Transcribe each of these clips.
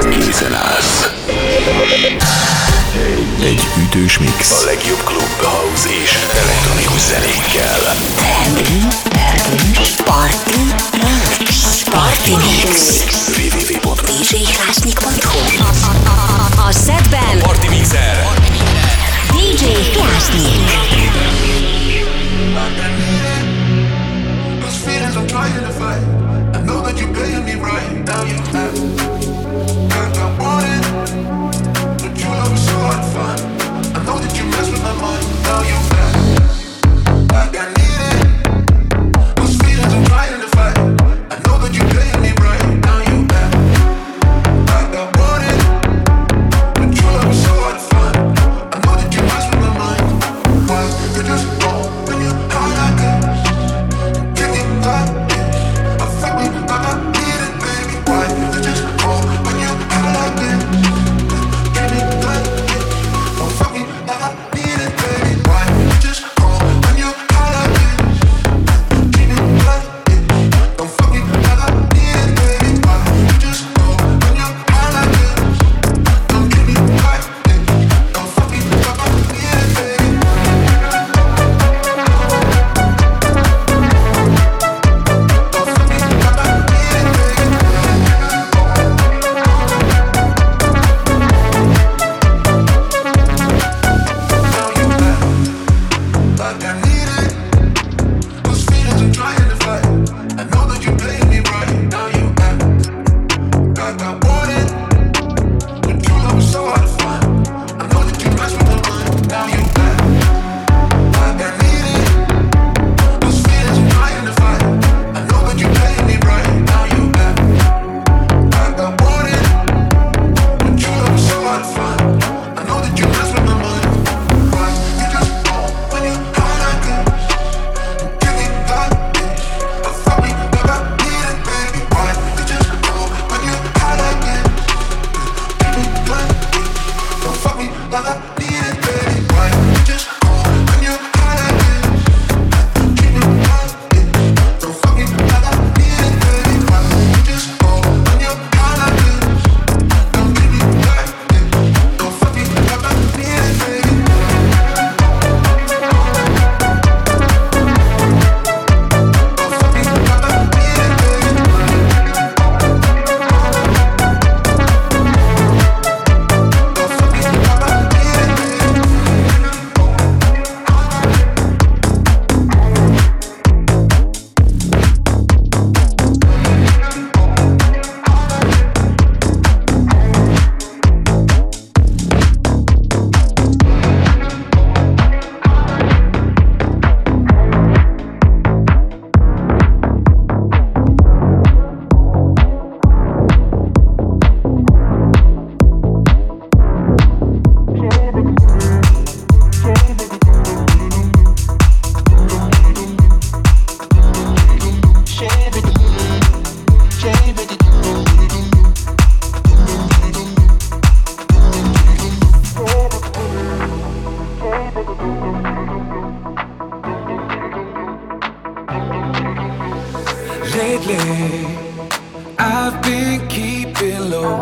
Készen állsz. Egy ütős mix. A legjobb klub, house és elektronikus zenékkel. Party Mix. www.djhlásnyik.hu. A setben Party Mixer. DJ Hlásnyik. Those feelings I'm trying to fight. I know that you're paying me right. Now you have. I want it, but you love me so hard to find. I know that you mess with my mind. Now you have. Like I need it. Those feelings I'm trying to fight. I know that you're paying me right. Now you have. Like I want it, but you love me so hard to find. I know that you mess with my mind. Why you just go when you high like this? Give me like this. Affect me like I need it, baby. Why you just go when you high like this? Give me like this. Don't fuck me like I need it, baby. Why you just go when you high like this? Give me like this. Don't fuck me like I need it, baby. Why you just go when you high like this? Don't give me like this. Don't fuck me like I need it, baby. Like I need it. Those feelings I'm trying to fight. I know that you playing me right. Now you act like I want it, but you love me so hard to find. I know that you mess with my mind. Now you act like I need it. Those feelings I'm trying to fight. I know that you playing me right. Now you act like I want it, but you love me so hard to find. I know that you mess with my mind. Why you just go when you high like this? Give me like this. Fuck me like I need it, baby. Why you just go when you high like this? Give me like this. Don't fuck me like I need it, baby. Why you just go when you high like this? Give me like this. Don't fuck me like I need it, baby. Why you just go when you high like this? Don't give me like this. Don't fuck me like I need it, baby. Lately, I've been keeping low,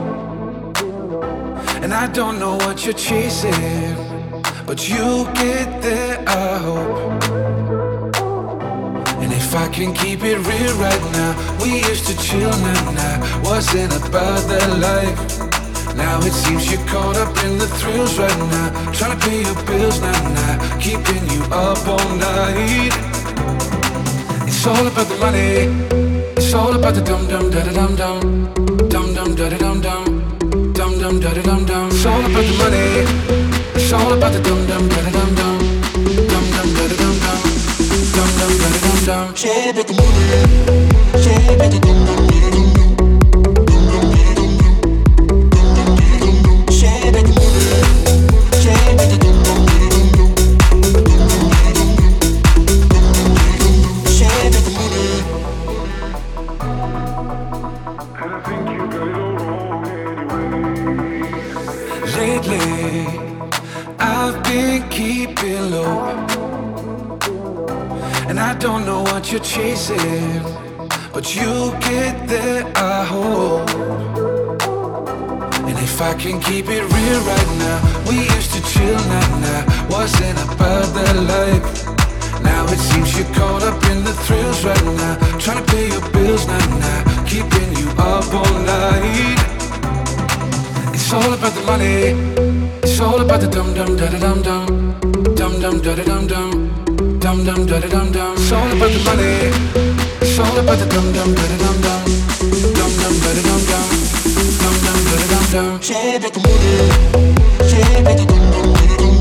and I don't know what you're chasing, but you'll get there, I hope. And if I can keep it real right now, we used to chill, nah, wasn't about that life. Now it seems you're caught up in the thrills right now, trying to pay your bills, nah, keeping you up all night. It's all about the money. It's all about the dum dum da da dum dum, dum dum da da dum dum, dum dum da da dum dum. It's all about the money. It's all about the dum dum da da dum dum, dum dum da da dum dum, dum dum da da dum dum. It's all about the money. It's all about the dum dum da da dum dum, dum dum da da dum dum, dum dum da da dum dum. It's all about the money. It's all about the dum dum da da dum dum, dum dum da da dum dum, dum dum da da dum dum. It's all about the money. Lately, I've been keeping low, and I don't know what you're chasing, but you'll get there, I hope. I can keep it real right now, we used to chill, nah, wasn't about that life. Now it seems you're caught up in the thrills right now, trying to pay your bills, nah, keeping you up all night. It's all about the money, it's all about the dum-dum-da-da-dum-dum, dum-dum-da-da-dum-dum, dum-dum-da-da-dum-dum. It's all about the money, it's all about the dum-dum-da-da-dum-dum, dum-dum-da-da-dum-dum, dum-dum-da-da-dum-dum. It's all about the money, it's all about the dum-dum-da-da-dum-dum.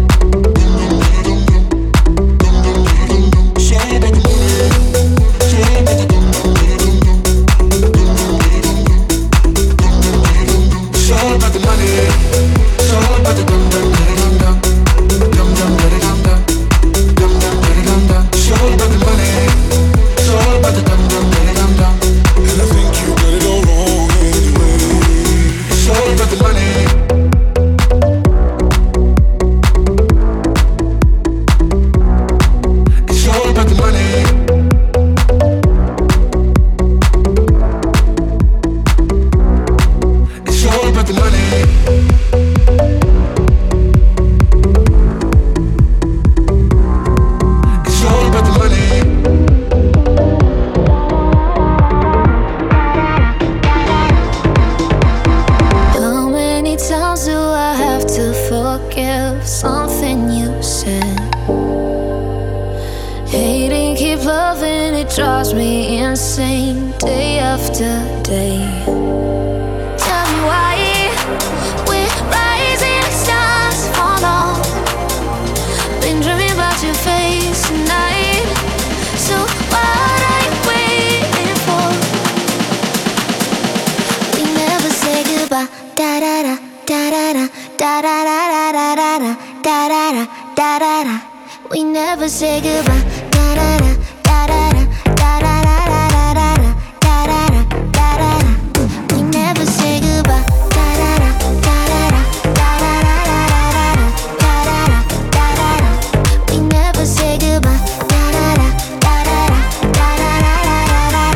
We never say goodbye. Da da da da da da da da da da da da da da. We never say goodbye. Da da da da da da da da da da. We never say goodbye. Da da da da da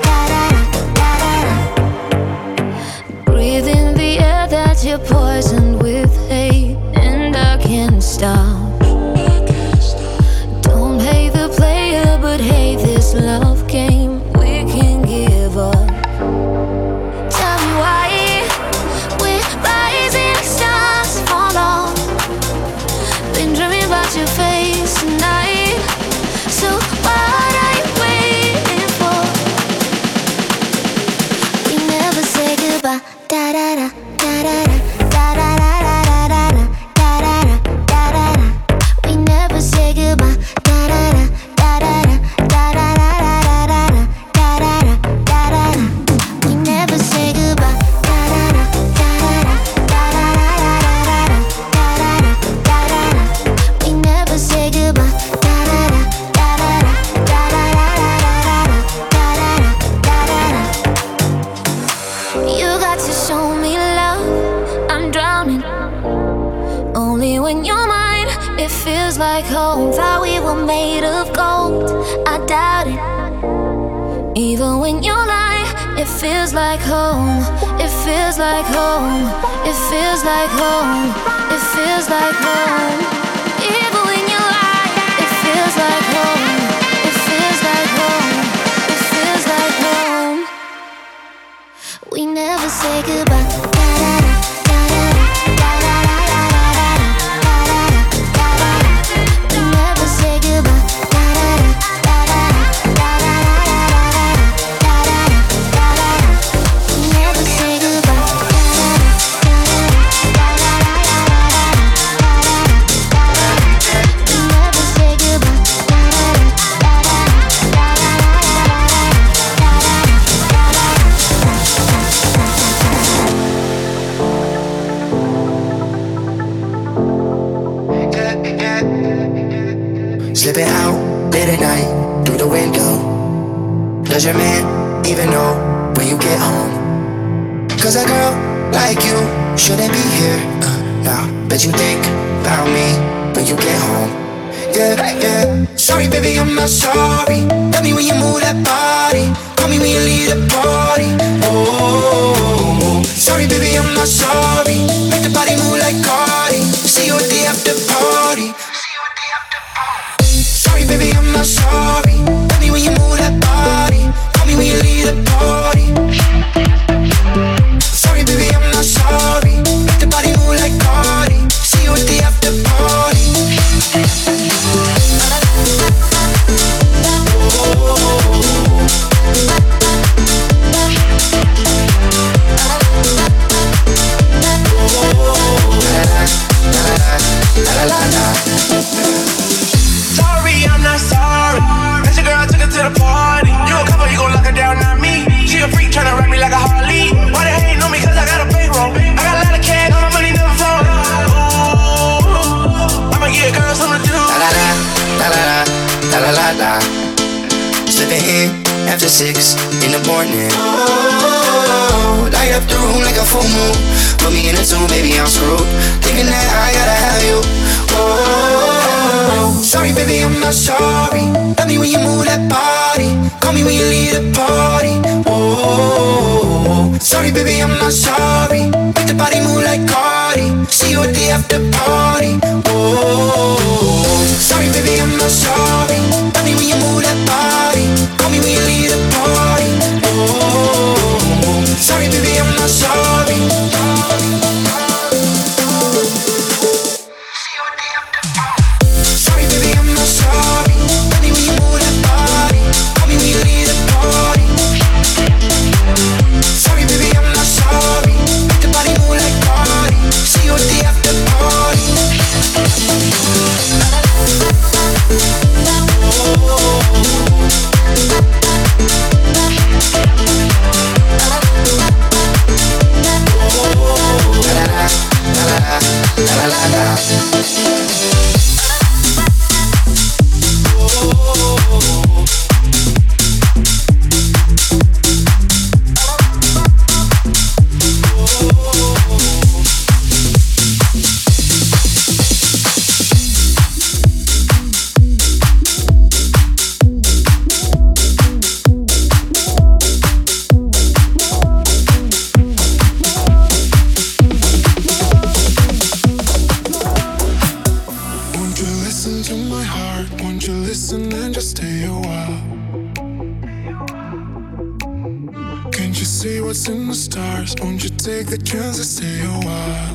da. Breathe in the air that you're poisoned with hate, and I can't stop. But hey, this love game we can give up. Tell me why we're rising stars fall off. Been dreaming about your face tonight. So what are you waiting for? We never say goodbye. Da da da da da da da da da da da da da da. We never say goodbye. Da da da. Like home, thought we were made of gold. I doubt it. Even when you lie, it feels like home. It feels like home. It feels like home. It feels like home. Even when you lie, it feels like home. It feels like home. It feels like home. We never say goodbye. Slipping out late at night through the window. Does your man even know when you get home? Cause a girl like you shouldn't be here now. Bet you think about me when you get home. Yeah. Sorry baby, I'm not sorry. Tell me when you move that body. Call me when you leave the party. Oh, sorry baby, I'm not sorry. morning. Oh, light up the room like a full moon. Put me in a tune, baby, I'm screwed. Thinking that I gotta have you. Oh, sorry, baby, I'm not sorry. Love me when you move that body. Call me when you leave the party. Oh, sorry, baby, I'm not sorry. Make the body move like Cardi. See you at the after party. Oh, sorry, baby, I'm not sorry. Love me when you move that body. Call me when you leave the party. Oh, sorry, baby, I'm not sorry. Sorry, baby, I'm not sorry. Love me when you move that body. Call me when you leave the party. Sorry, baby, I'm not sorry. Make the body move like Cardi. See you at the after party. Take the chance to stay a while.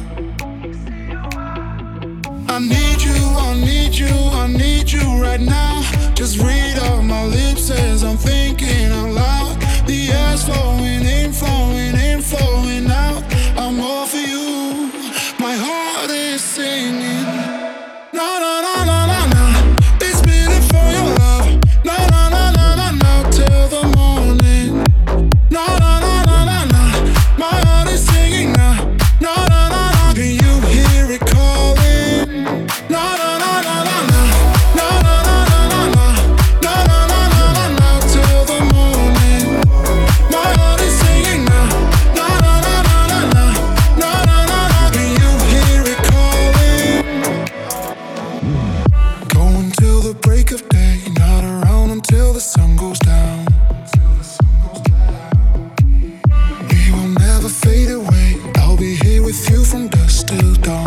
I need you, I need you, I need you right now. Just read off my lips as I'm thinking out loud. The air's flowing in, flowing in, flowing out. I'm all for you, my heart is singing. Na na na na na na. It's beating for your love. Na na na na na na till the morning. Na na na na na na. My heart is singing now. Na na na na. Can you hear it calling? Na na na na na na. Na na na na na na. Na na na na na na till the morning. My heart is singing now. Na na na na na na. Na na na na. Can you hear it calling? Going till the break of day, not around until the sun goes down. Fade away, I'll be here with you from dusk till dawn.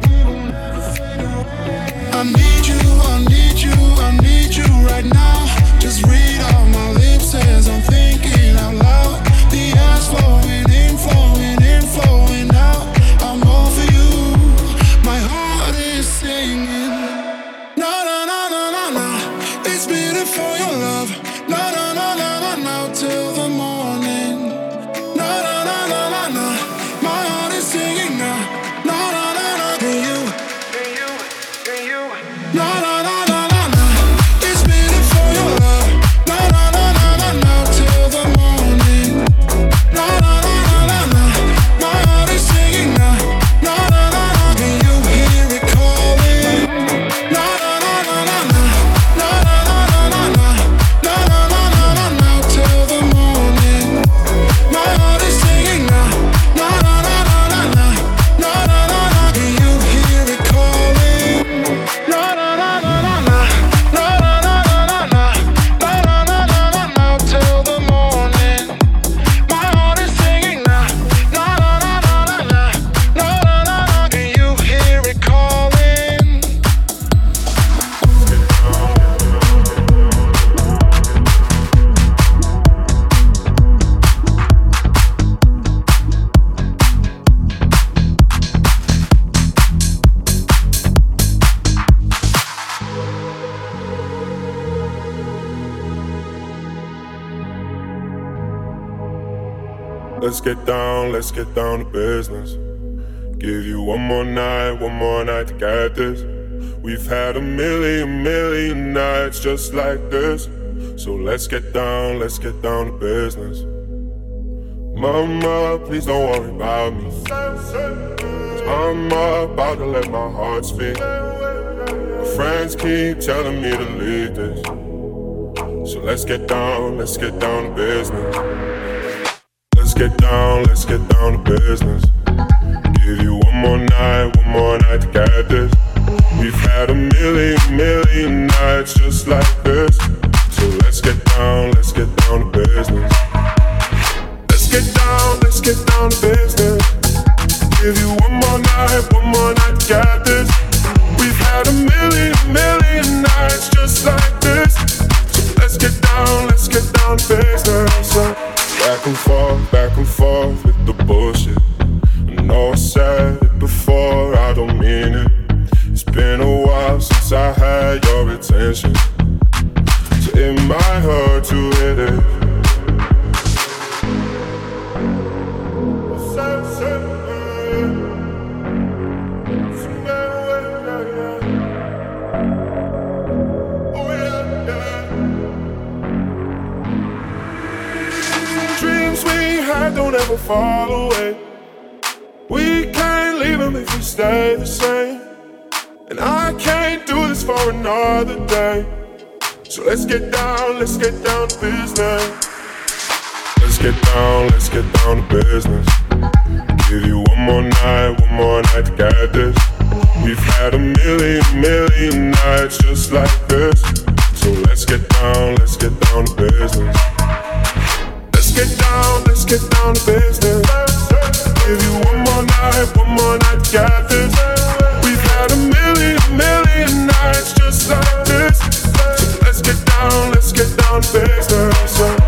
I need you, I need you, I need you right now. Just read off my lips as I'm thinking out loud. The air's flowing in, flowing in, flowing out. I'm all for you, my heart is singing. Na na na na na na. It's beating for your love. Na na na na na na till the morning. Na na na na na na. My heart is singing now. Na na na na. Can you? Na na na na na na. It's beating for your love. Na na na na na na till the morning. Na na na na na na. My heart is singing now. Na na na na. Can you hear it calling? Na na na na na na. Na na na na na na. Na na na na na na till the morning. My heart is singing now. Na na na na na na. Na na na na. Can you hear it calling? Na na na na na na. Na na na na na na. Na na na na na na till the morning. My heart is singing now. Na na na na na na. Na na na na. Can you hear it calling? Let's get down to business. Give you one more night to get this. We've had a million nights just like this. So let's get down to business. Mama, please don't worry about me. 'Cause I'm about to let my heart speak. My friends keep telling me to leave this. So let's get down to business. get down to business. Give you one more night to get this. We've had a million nights just like this. So let's get down to business. Let's get down to business. Give you one more night to get this. We've had a million nights just like this. So let's get down to business. So back and forth with the bullshit. I know I said it before, I don't mean it. It's been a while since I had your attention, so it might hurt to hit it. Dreams we had don't ever fall away. We can't leave them if we stay the same. And I can't do this for another day. So let's get down to business. Let's get down to business. Give you one more night to get this. We've had a million nights just like this. So let's get down to business. Let's get down to business. Give you one more night to get this. We've had a million nights just like this. So let's get down to business.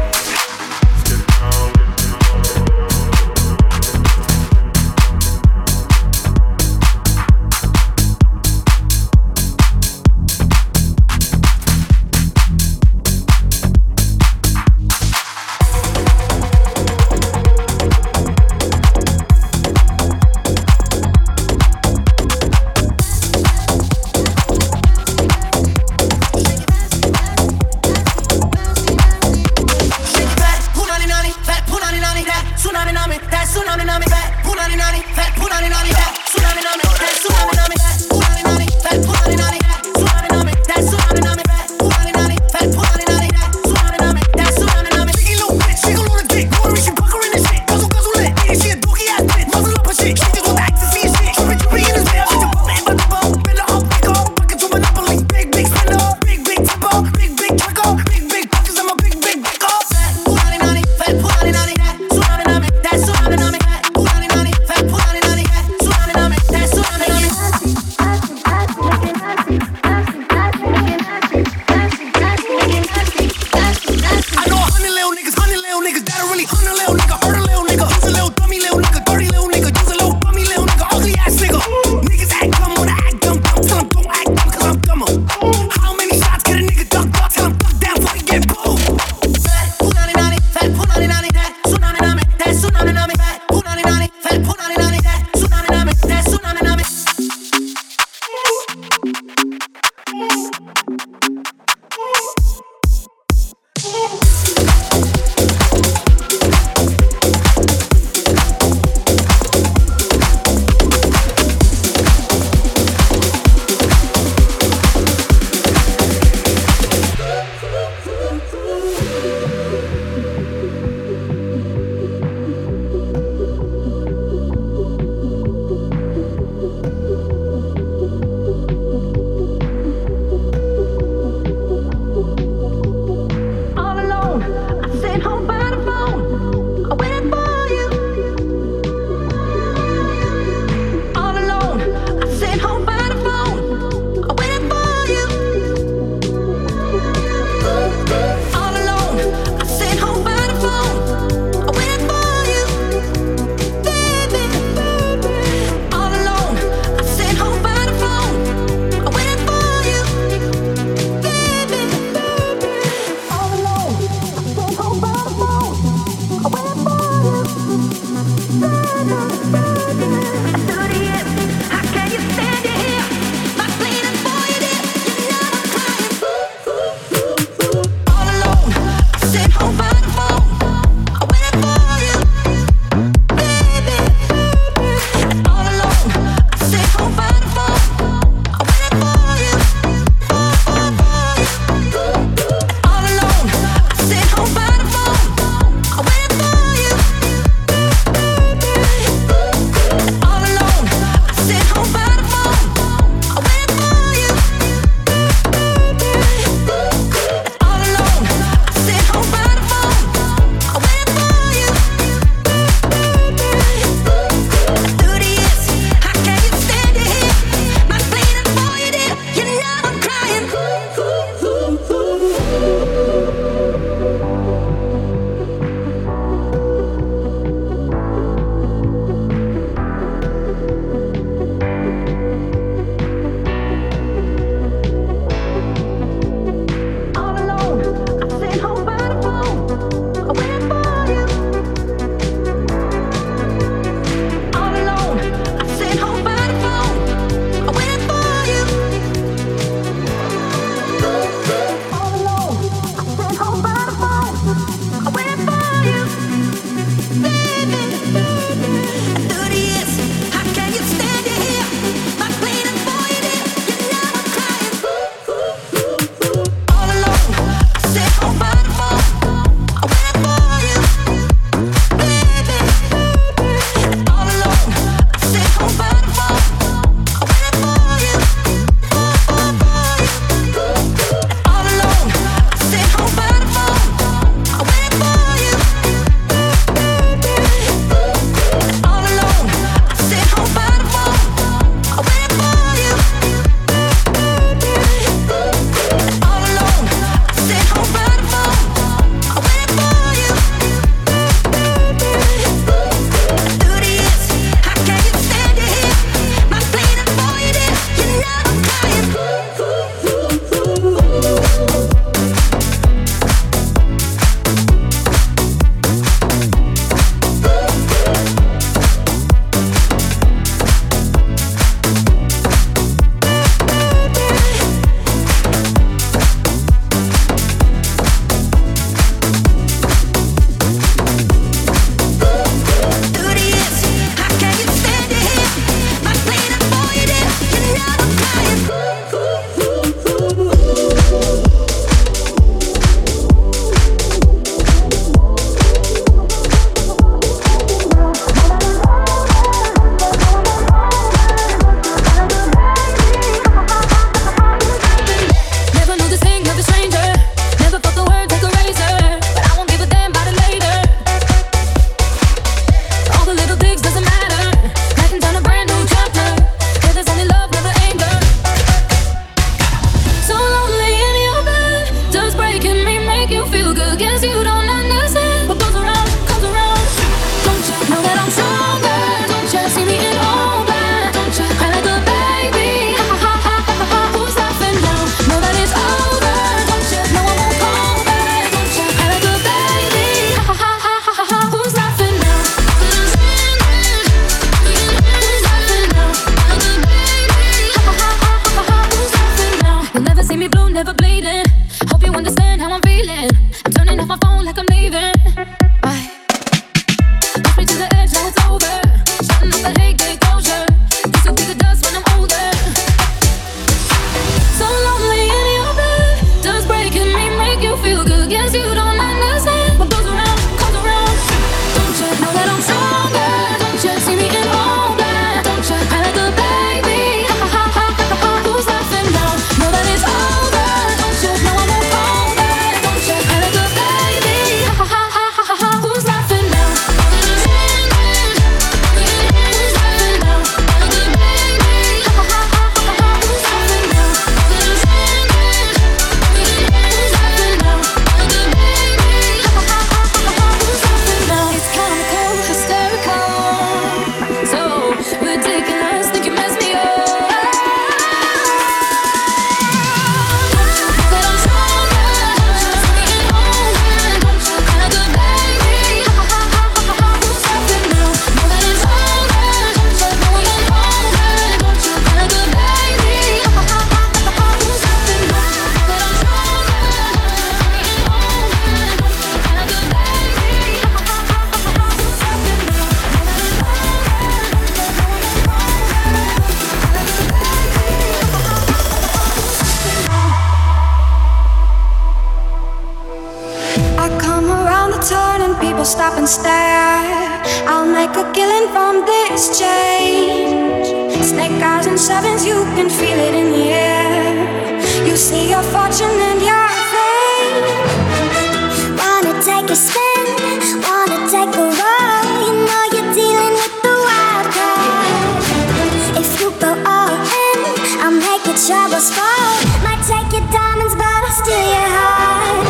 stop and stare. I'll make a killing from this change. Snake eyes and sevens, you can feel it in the air. You see your fortune and your fame. Wanna take a spin, wanna take a roll. You know you're dealing with the wild card. If you go all in, I'll make your troubles fall. Might take your diamonds, but I'll steal your heart.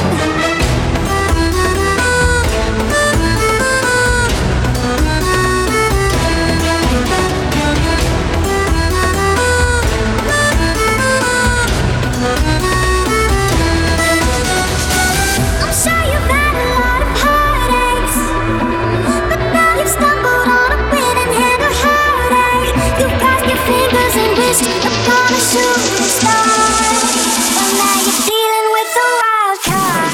Upon a shooting star, but now you're dealing with a wild card.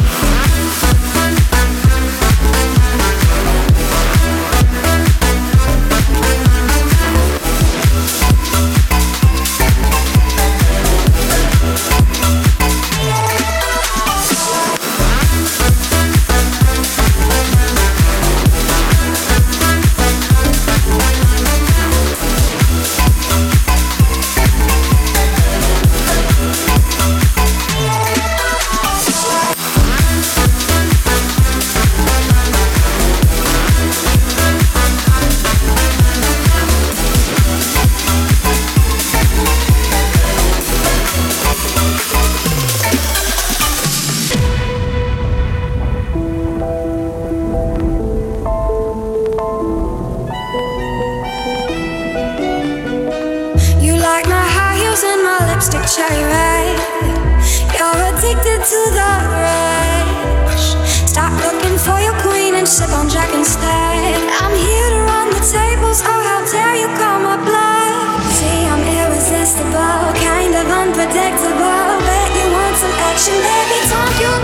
Cherry red, you're addicted to the rush. Stop looking for your queen and sip on Jack instead. I'm here to run the tables, oh how dare you call my bluff. See, I'm irresistible, kind of unpredictable. Bet you want some action, baby, don't you.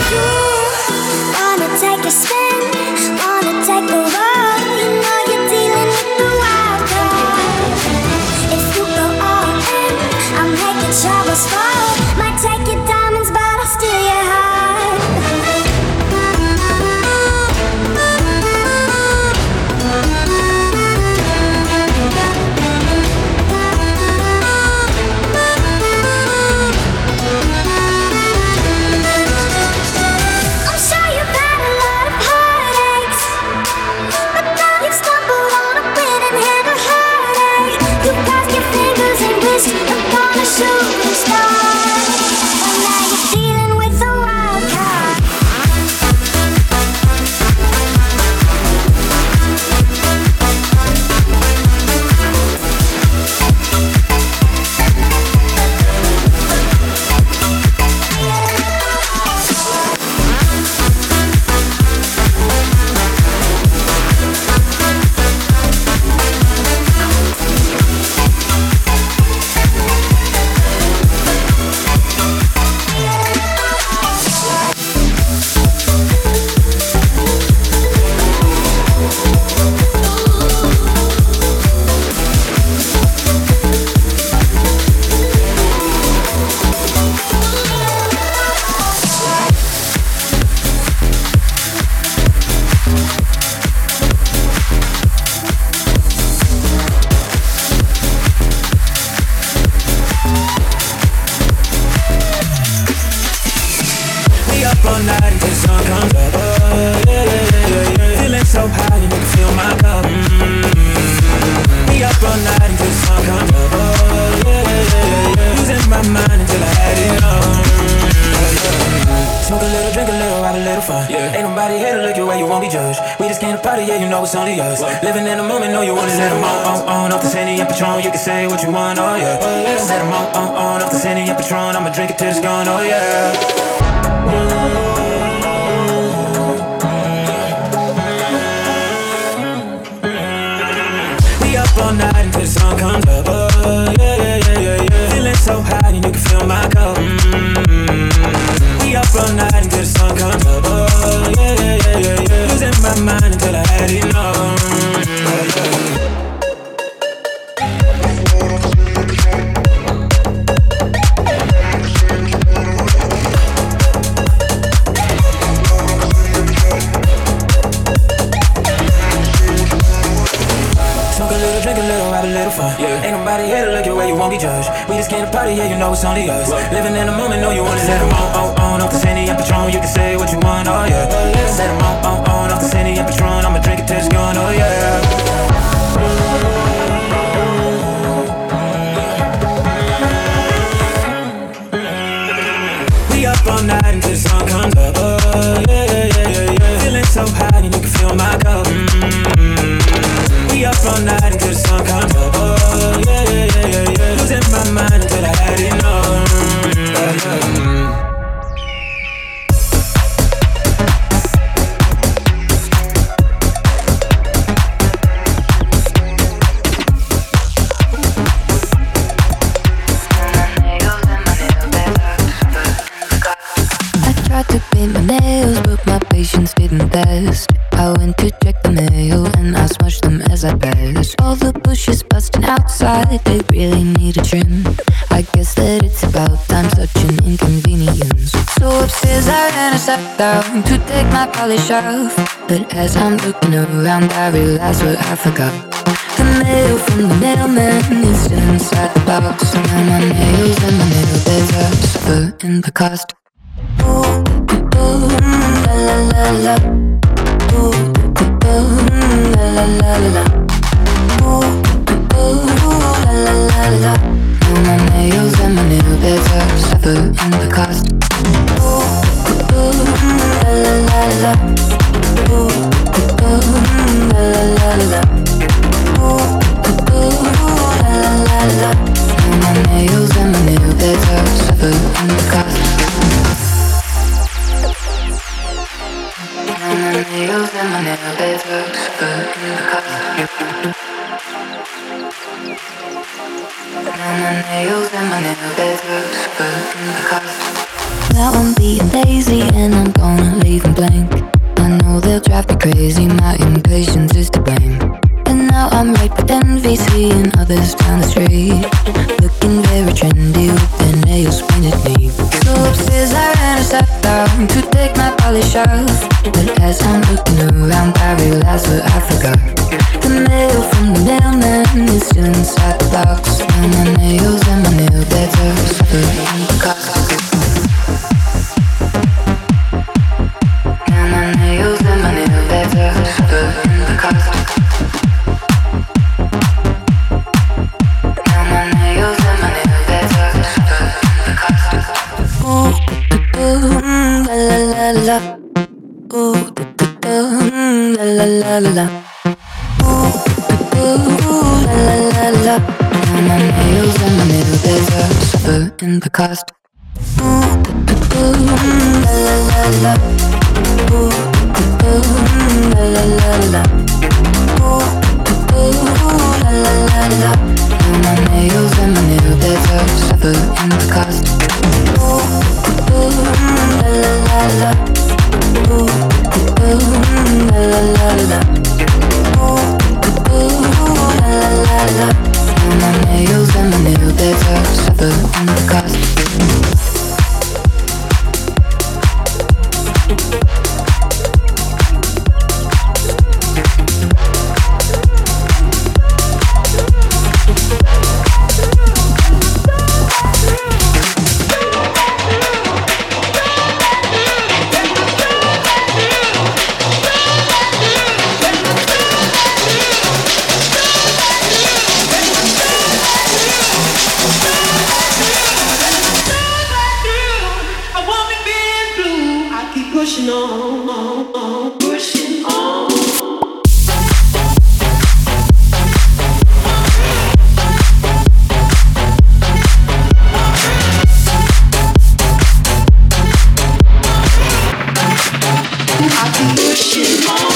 Wanna take a spin, wanna take a roll. You know you're dealing with the wild card. If you go all in, I'll make your troubles fall. Might take your diamonds, but I'll steal your heart. I'm sure you've had a lot of heartaches, but now you've stumbled on a winning hand of heartache. You crossed your fingers and wished upon a shooting star, but now you're dealing with a wild card. All night until the sun comes up. Oh, yeah. Feeling so high, you can feel my cup. Be up all night until the sun comes up. Oh, yeah. Losing my mind until I had it on. Smoke a little, drink a little, have a little fun. Ain't nobody here to look your way, you won't be judged. We just came to party, yeah, you know it's only us. Living in the moment, know you wanna let them on. Off the Sandy and Patron, you can say what you want, oh yeah. Set them on, off the Sandy and Patron, I'ma drink it till it's gone, oh yeah. We up all night until the sun comes up. Oh, yeah. Feeling so high and you can feel my cup. We up all night until the sun comes up. Oh, yeah. Losing my mind until I had enough. drink a little, have a little fun. Yeah. Ain't nobody here to look at where you won't be judged. We just came to party, yeah, you know it's only us. Living in the moment, know you wanna let them on off the Henny and Patron. You can say what you want, oh yeah. Set them on off the Henny and Patron. I'ma drink it till it's gone, oh yeah. We up all night until the sun comes up, oh yeah. Feeling so high, and you can feel my cup. We up all night until the sun comes up, oh yeah. Losing my mind until I had enough. Patience didn't last. I went to check the mail and I smushed them as I passed. All the bushes busting outside, they really need a trim. I guess that it's about time, such an inconvenience. So upstairs I ran a step down to take my polish off. But as I'm looking around, I realize what I forgot. The mail from the mailman is still inside the box. Now my nails and my nail beds are suffering the cost. Ooh, ooh, la la la la. Ooh, ooh, la la la la. Ooh, ooh, la la la la. Now my nails and my nail beds are suffering the cost. Ooh, ooh, la la la la. Ooh, ooh, la la la la. Ooh, ooh, la la la la. Now my nails and my nail beds are suffering the cost. My nails and my nail beds are suffering the cost. Now my nails and my nail beds are suffering the cost. Now I'm being lazy and I'm gonna leave them blank. I know they'll drive me crazy, my impatience is to blame. And now I'm right with envy, seeing others down the street looking very trendy with their nails painted neat. So upstairs I ran a step down to take my polish off. But as I'm looking around, I realize what I forgot. The mail from the mailman is still inside the box. Now my nails and my nail beds are suffering the cost. Now my nails and my nail beds are suffering the cost. Now my nails and my nail beds are suffering the cost. Ooh, ooh, la la la la. Ooh, la la la la la. Ooh, ooh, la la la la. Now my nails and my nail beds are suffering the cost. Ooh, ooh, la la la la. Ooh, ooh, la la la la. Ooh, ooh, la la la la. Now my nails and my nail beds are suffering the cost. Ooh, ooh, la la la la. Ooh, ooh, la la la la. Ooh, ooh, la la la la. Now my nails and my nail beds are suffering the cost. Pushing on, pushing on. I keep pushing on.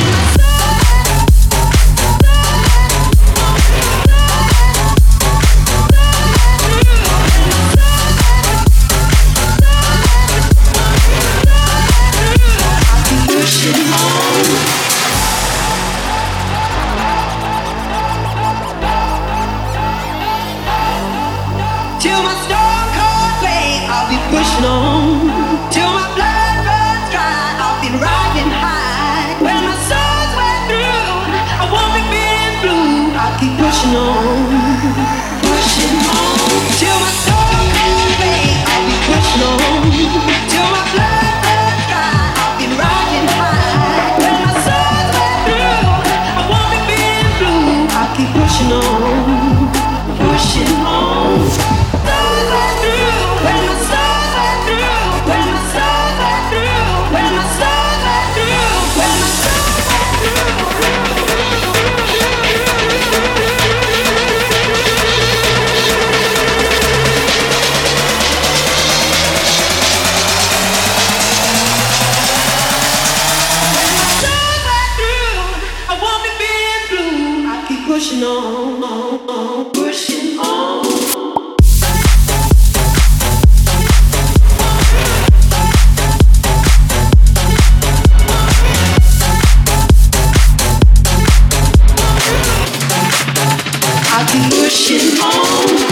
Till my stone cold flame, I'll be pushing on. Till my blood runs dry, I'll be riding high. When my soul's wet through, I won't be feeling blue. I'll keep pushing on, pushing on till my soul goes away. I'll be pushing on till my blood runs dry. I'll be riding high when my soul's wet through. I won't be feeling blue. I'll keep pushing on, pushing on. Soul's wet through when my soul's wet through. When my soul's wet through. When my soul's wet through. When my soul's wet through. Pushing on, pushing on. I'll keep pushing on.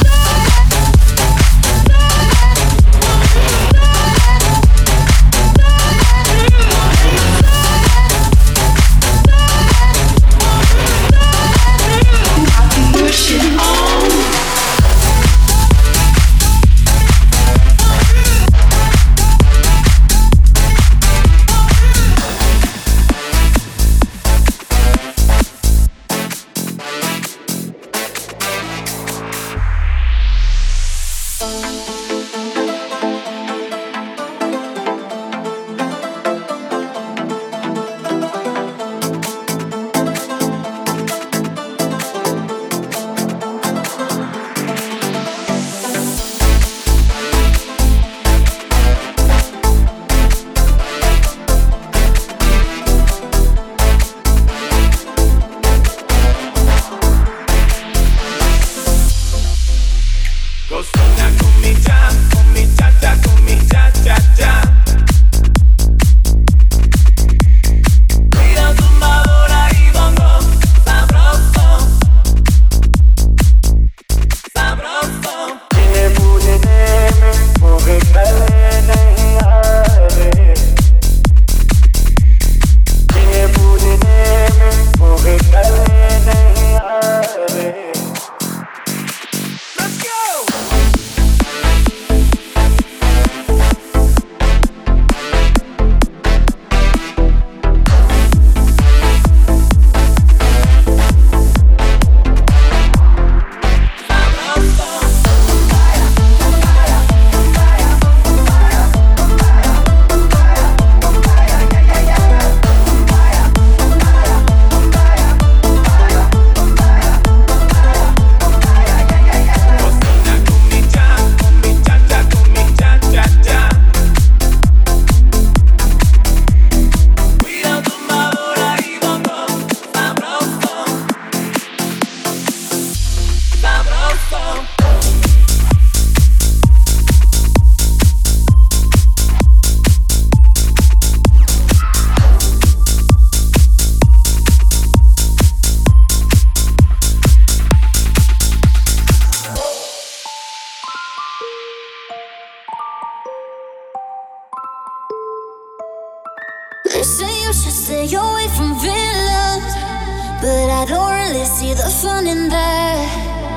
They say you should stay away from villains, but I don't really see the fun in that.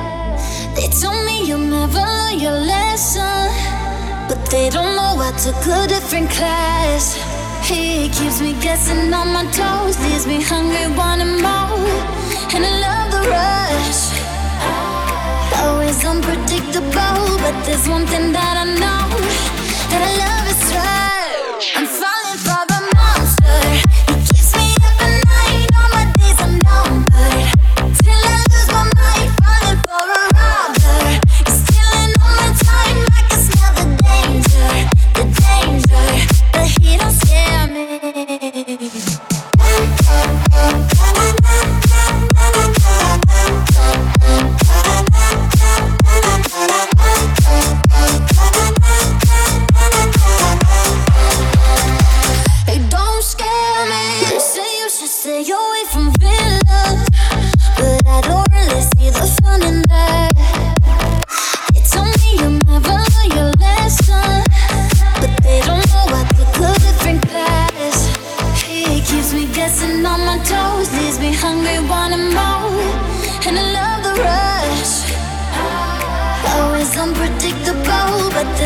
They told me you'll never learn your lesson, but they don't know I took a different class. He keeps me guessing on my toes, leaves me hungry, wanting more, and I love the rush. Always unpredictable, but there's one thing that I know, that I love is right. I'm falling for the monster. He keeps me up at night, all my days are numbered, till I lose my mind, falling for a robber. He's stealing all my time, I can smell the danger, but he don't scare me.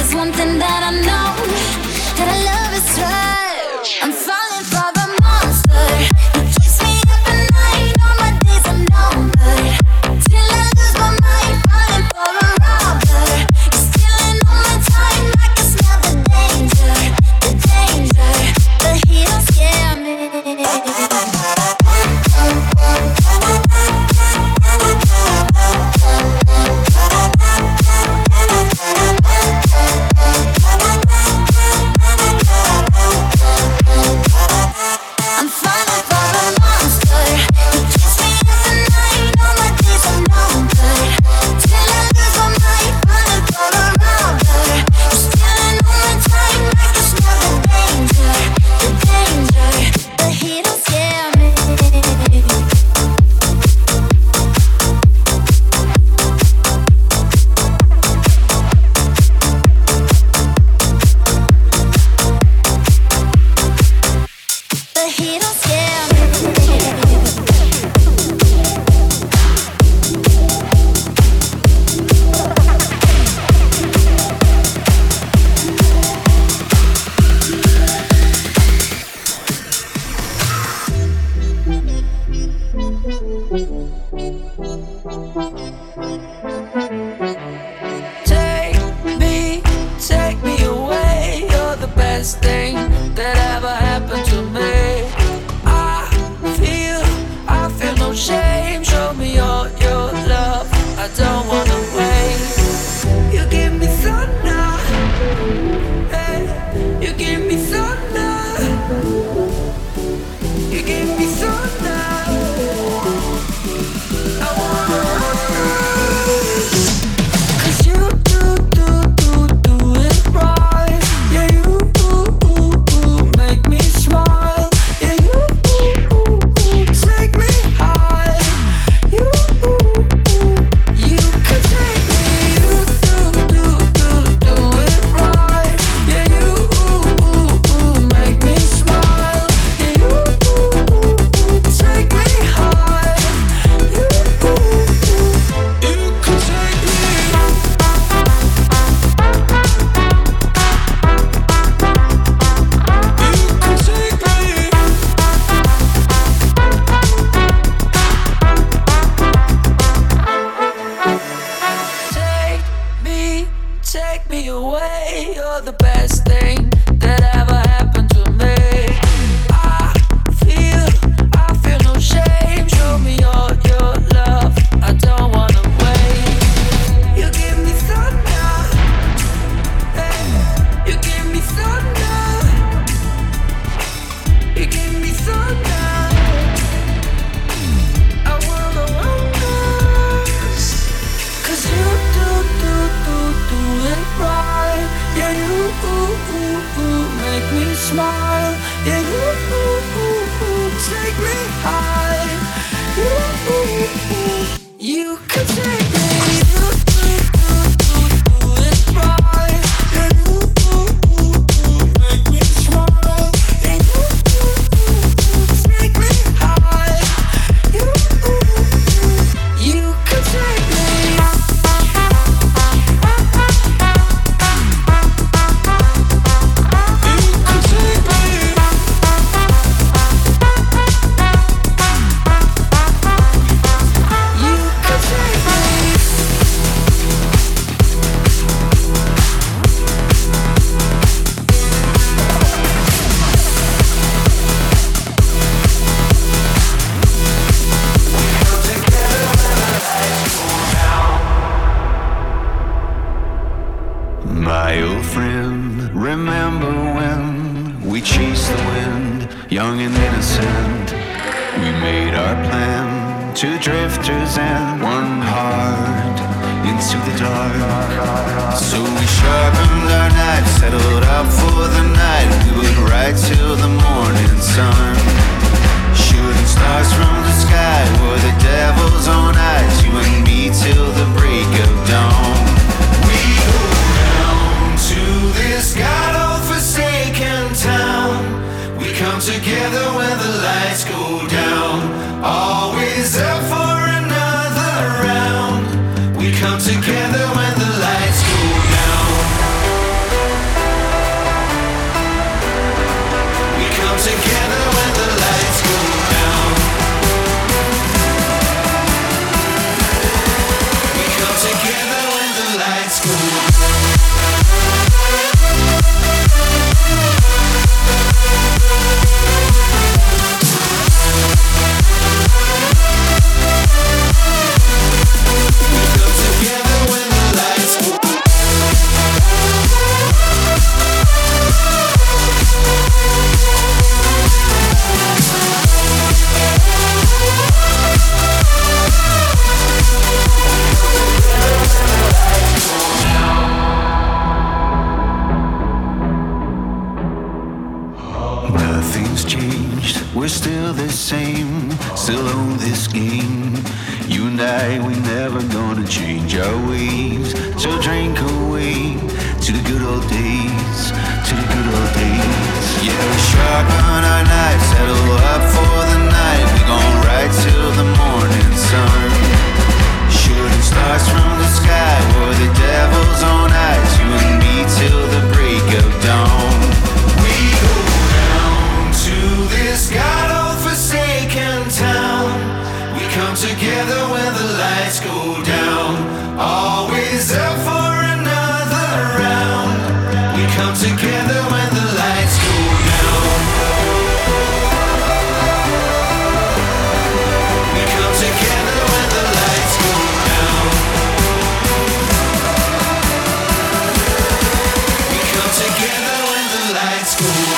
there's one thing that I know, that I love is right. I'm falling for the monster. He keeps me up at night, all my days are numbered. Till I lose my mind, falling for a robber. He's stealing all my time, I can smell the danger. But he don't scare me. Together when the lights go down, always up for another round. We come together when the lights go down. never gonna change our ways. So drink away to the good old days, to the good old days. Yeah, we sharpen our knives, settle up for the night. We gon' ride till the morning sun. Shooting stars from the sky, we're the devil's own eyes. You and me till the break of dawn. We go down to this God-forsaken town. We come together when the lights go down. Always up for another round. We come together when the lights go down. We come together when the lights go down. We come together when the lights go down.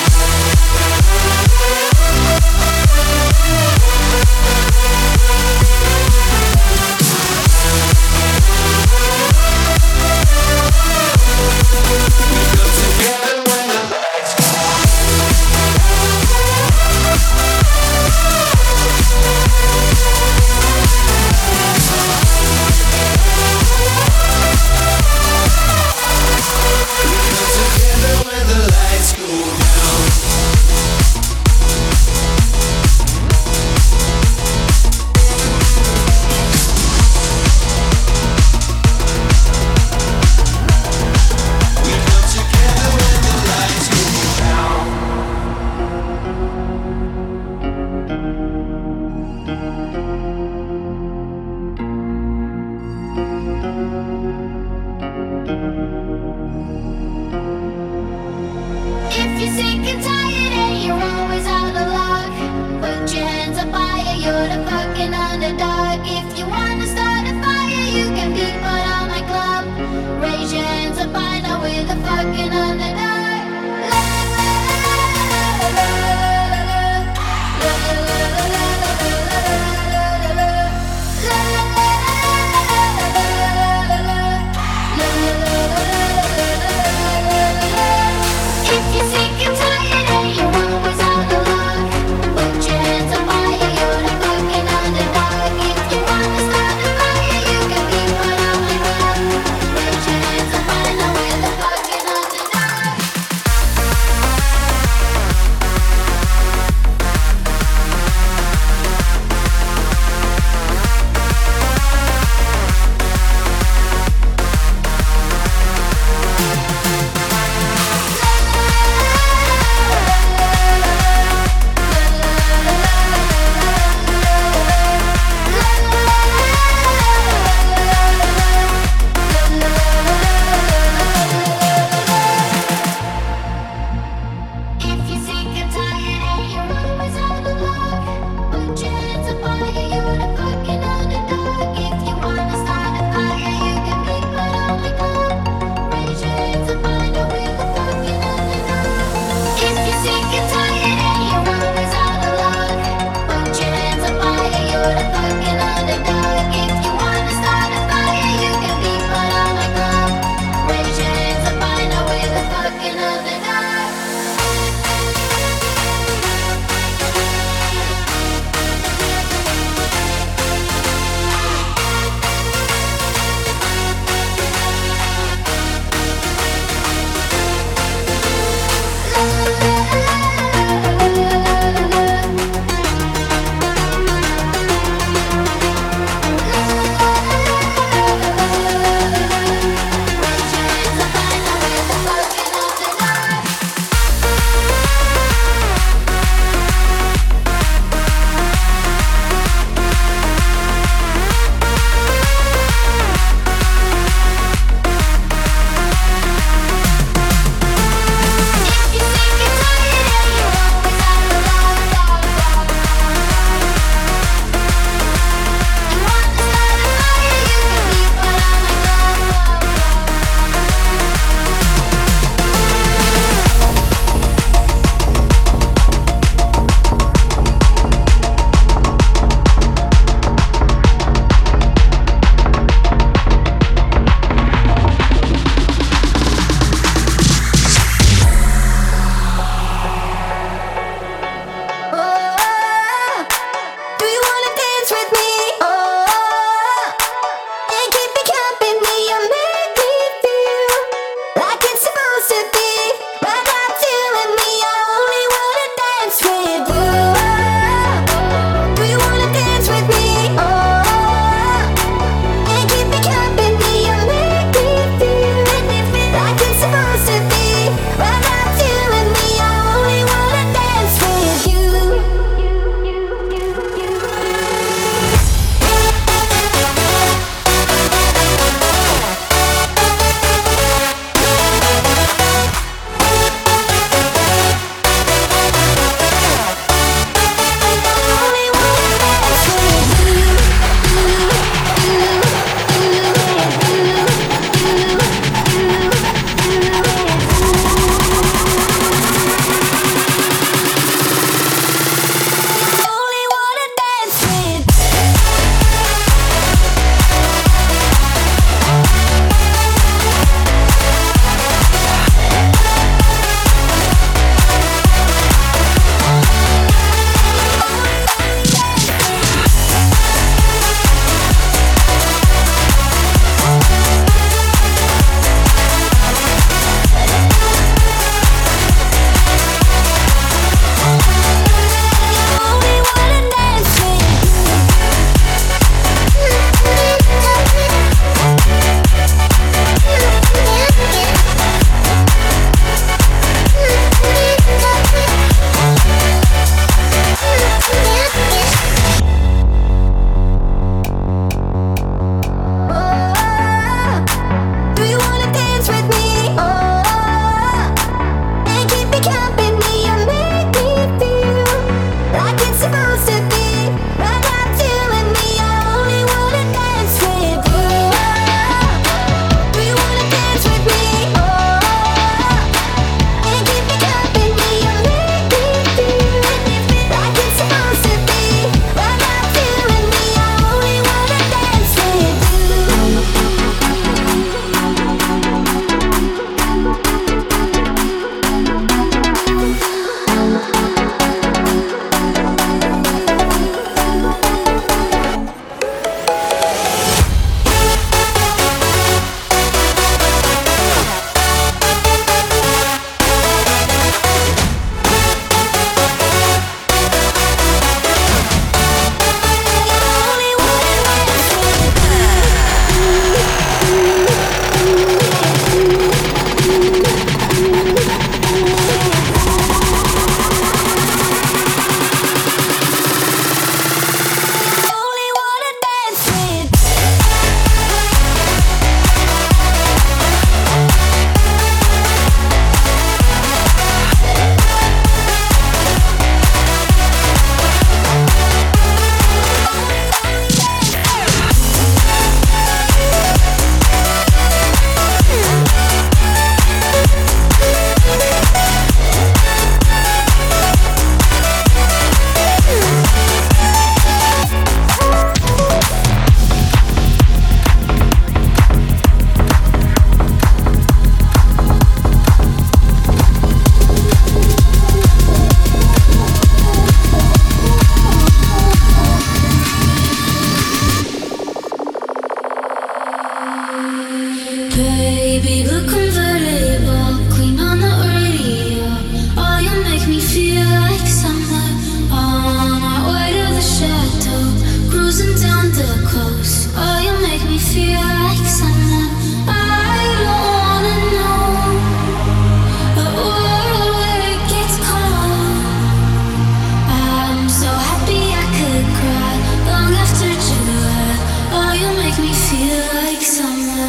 Baby, blue convertible, clean on the radio. Oh, you make me feel like summer. On our way to the chateau, cruising down the coast. Oh, you make me feel like summer. I don't wanna know a world where it gets cold. I'm so happy I could cry long after July. Oh, you make me feel like summer.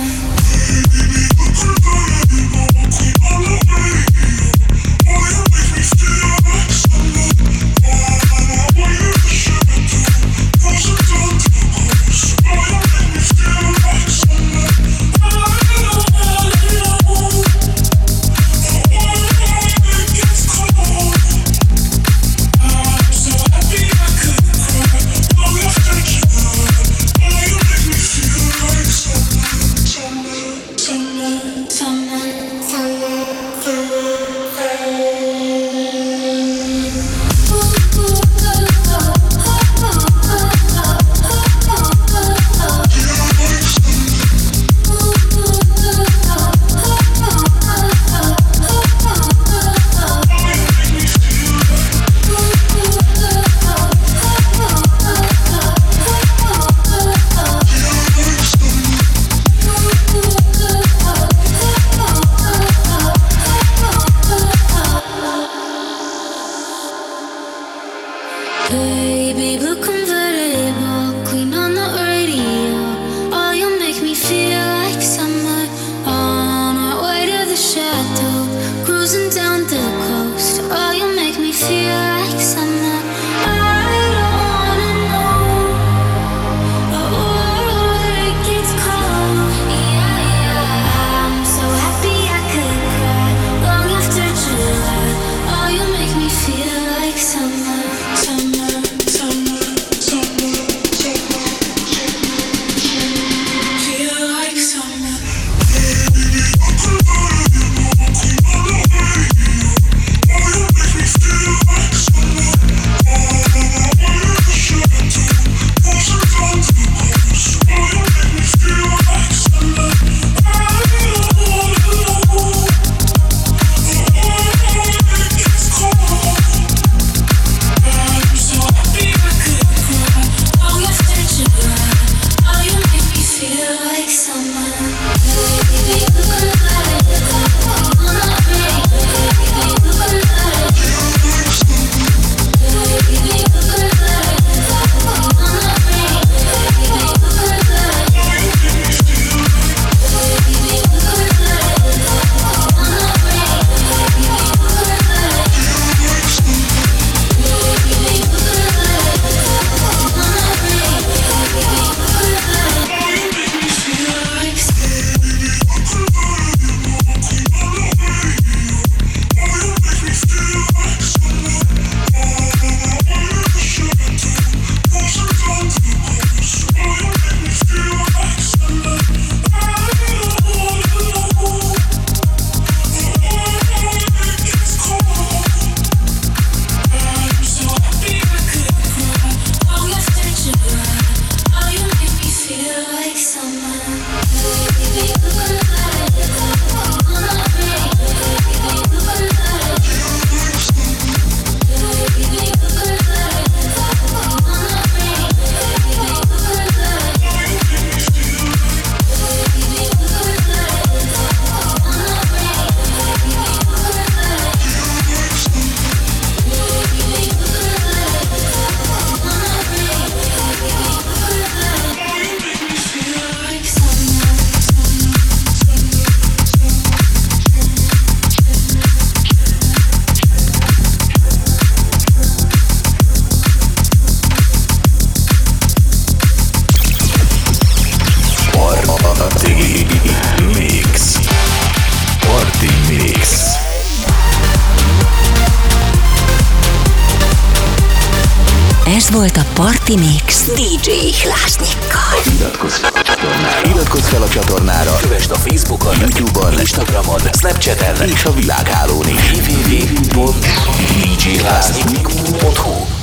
Baby, blue convertible, clean on the radio. Oh, you make me feel like summer. On our way to the chateau, cruising down the coast. Oh, you make me feel like summer. I don't wanna know a world where it gets cold. Yeah, yeah. I'm so happy I could cry long after July. Oh, you make me feel like summer. Ez volt a Party Mix DJ Hlásnyikkal. Iratkozz fel a csatornára, kövesd a Facebookon, YouTube-on, Instagramon, Snapchaten és a világhálón is. www.djhlásnyik.hu